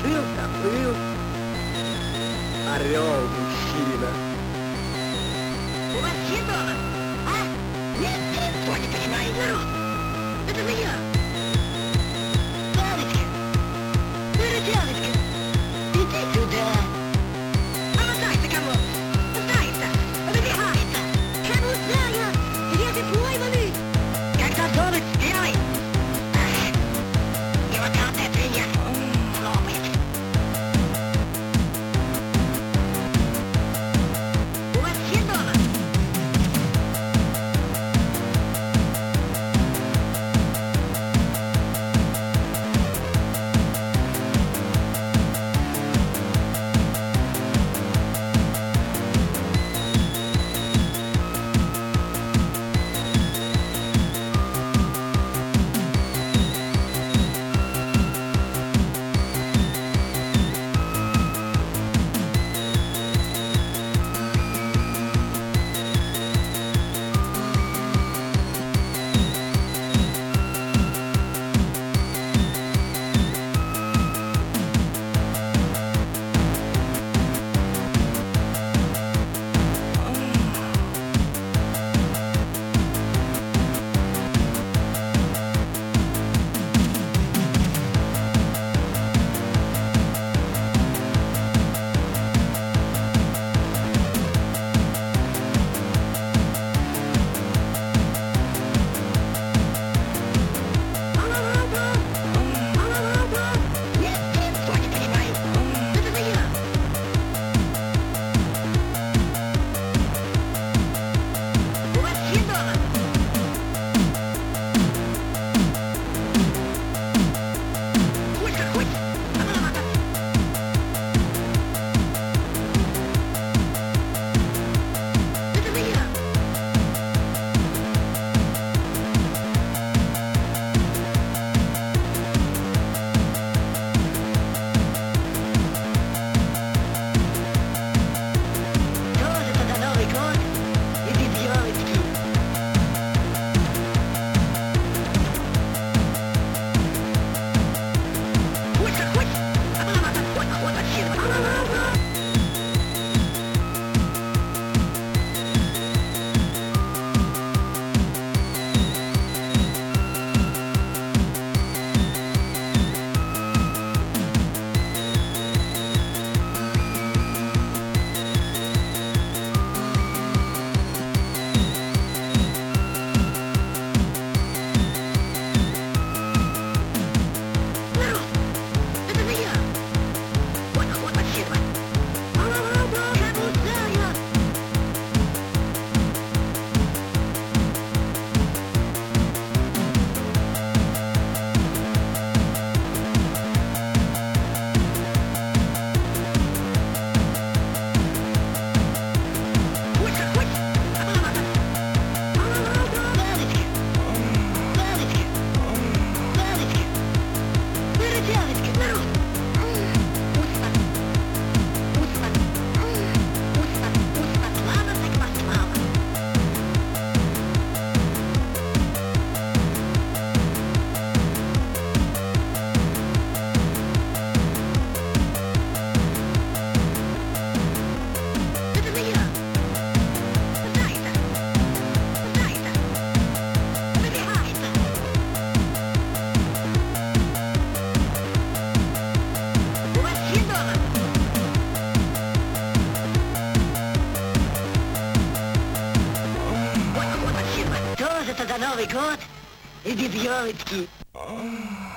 Доплыл. Орел, мужчина. У вас все дома? А? Нет, никто не понимает, народ. Это же я. Палочка. Выручалочка. Иди сюда. Помотайся, кому? Пытается. Выбегается. Кому знаю? Где ты пойманы? Когда домик белый. И вот это свинья. Лопает. У вас все дома? За Новый год и без елочки.